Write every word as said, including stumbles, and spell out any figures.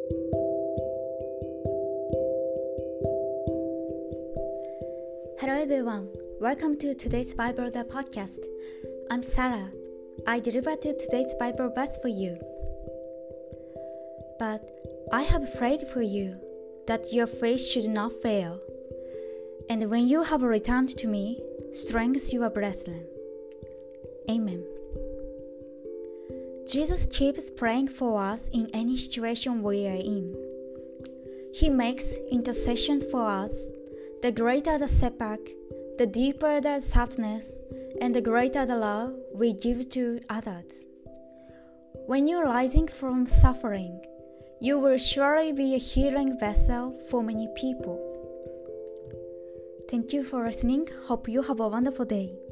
Hello everyone, welcome to today's Bible the podcast. I'm Sarah. I deliver to today's Bible verse for you. But I have prayed for you that your faith should not fail. And when you have returned to me, strengthen your brethren. Amen. Jesus keeps praying for us in any situation we are in. He makes intercessions for us. The greater the setback, the deeper the sadness, and the greater the love we give to others. When you're rising from suffering, you will surely be a healing vessel for many people. Thank you for listening. Hope you have a wonderful day.